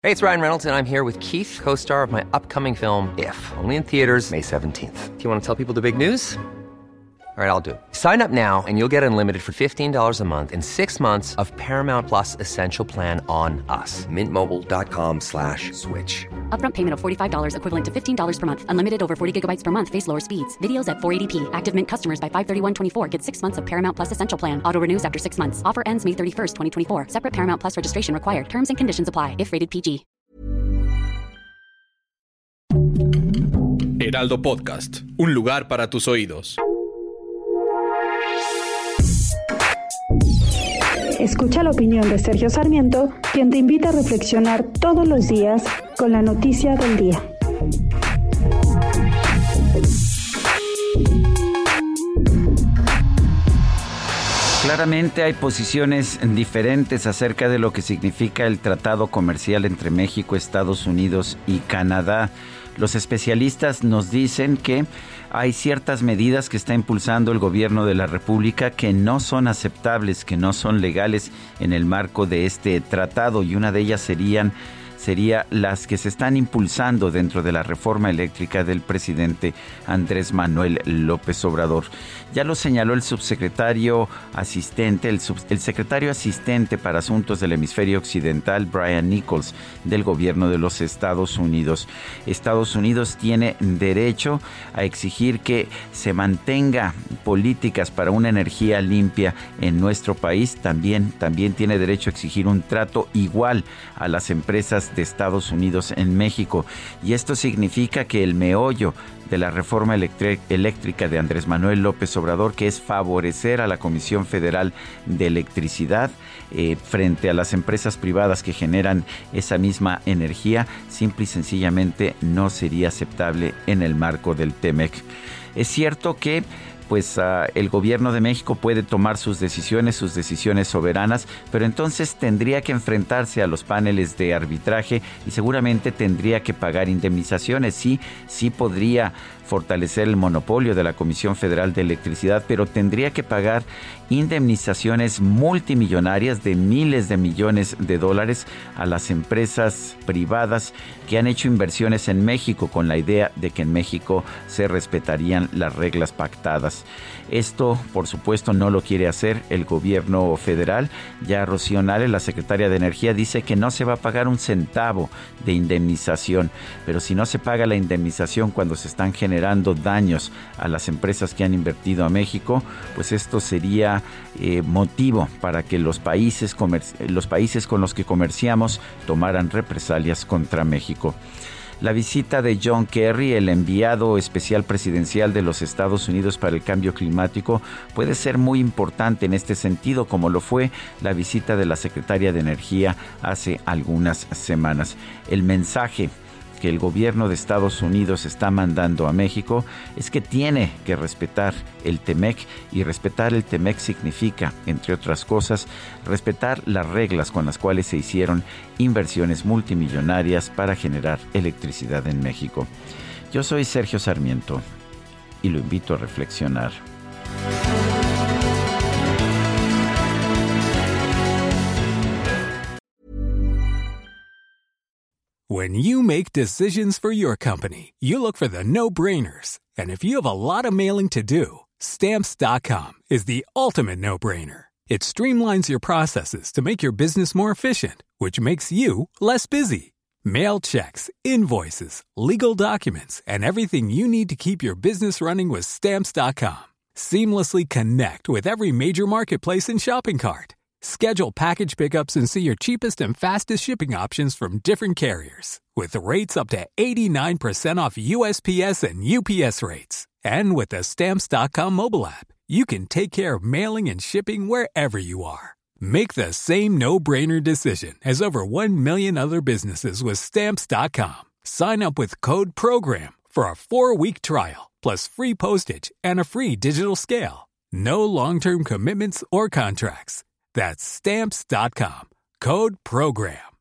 Hey, it's Ryan Reynolds, and I'm here with Keith, co-star of my upcoming film, If, only in theaters May 17th. Do you want to tell people the big news? All right, I'll do it. Sign up now and you'll get unlimited for $15 a month and 6 months of Paramount Plus Essential Plan on us. MintMobile.com/switch. Upfront payment of $45 equivalent to $15 per month. Unlimited over 40 gigabytes per month. Face lower speeds. Videos at 480p. Active Mint customers by 531.24 get 6 months of Paramount Plus Essential Plan. Auto renews after 6 months. Offer ends May 31st, 2024. Separate Paramount Plus registration required. Terms and conditions apply if rated PG. Heraldo Podcast. Un lugar para tus oídos. Escucha la opinión de Sergio Sarmiento, quien te invita a reflexionar todos los días con la noticia del día. Claramente hay posiciones diferentes acerca de lo que significa el tratado comercial entre México, Estados Unidos y Canadá. Los especialistas nos dicen que hay ciertas medidas que está impulsando el gobierno de la República que no son aceptables, que no son legales en el marco de este tratado, y una de ellas sería las que se están impulsando dentro de la reforma eléctrica del presidente Andrés Manuel López Obrador. Ya lo señaló el subsecretario asistente, el secretario asistente para asuntos del hemisferio occidental, Brian Nichols, del gobierno de los Estados Unidos. Estados Unidos tiene derecho a exigir que se mantenga políticas para una energía limpia en nuestro país. También tiene derecho a exigir un trato igual a las empresas de Estados Unidos en México, y esto significa que el meollo de la reforma eléctrica de Andrés Manuel López Obrador, que es favorecer a la Comisión Federal de Electricidad frente a las empresas privadas que generan esa misma energía, simple y sencillamente no sería aceptable en el marco del TEMEC. Es cierto que el gobierno de México puede tomar sus decisiones soberanas, pero entonces tendría que enfrentarse a los paneles de arbitraje y seguramente tendría que pagar indemnizaciones. Sí podría fortalecer el monopolio de la Comisión Federal de Electricidad, pero tendría que pagar indemnizaciones multimillonarias de miles de millones de dólares a las empresas privadas que han hecho inversiones en México con la idea de que en México se respetarían las reglas pactadas. Esto, por supuesto, no lo quiere hacer el gobierno federal. Ya Rocío Nale, la secretaria de Energía, dice que no se va a pagar un centavo de indemnización, pero si no se paga la indemnización cuando se están generando daños a las empresas que han invertido a México, pues esto sería motivo para que los países con los que comerciamos tomaran represalias contra México. La visita de John Kerry, el enviado especial presidencial de los Estados Unidos para el cambio climático, puede ser muy importante en este sentido, como lo fue la visita de la secretaria de Energía hace algunas semanas. El mensaje que el gobierno de Estados Unidos está mandando a México es que tiene que respetar el TEMEC, y respetar el TEMEC significa, entre otras cosas, respetar las reglas con las cuales se hicieron inversiones multimillonarias para generar electricidad en México. Yo soy Sergio Sarmiento y lo invito a reflexionar. When you make decisions for your company, you look for the no-brainers. And if you have a lot of mailing to do, Stamps.com is the ultimate no-brainer. It streamlines your processes to make your business more efficient, which makes you less busy. Mail checks, invoices, legal documents, and everything you need to keep your business running with Stamps.com. Seamlessly connect with every major marketplace and shopping cart. Schedule package pickups and see your cheapest and fastest shipping options from different carriers, with rates up to 89% off USPS and UPS rates. And with the Stamps.com mobile app, you can take care of mailing and shipping wherever you are. Make the same no-brainer decision as over 1 million other businesses with Stamps.com. Sign up with code PROGRAM for a 4-week trial, plus free postage and a free digital scale. No long-term commitments or contracts. That's Stamps.com. Code PROGRAM.